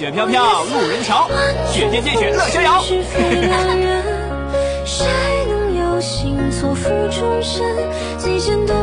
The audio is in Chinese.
雪飘飘路人瞧，雪见见雪乐逍遥。 谁能有幸错付终身，最见多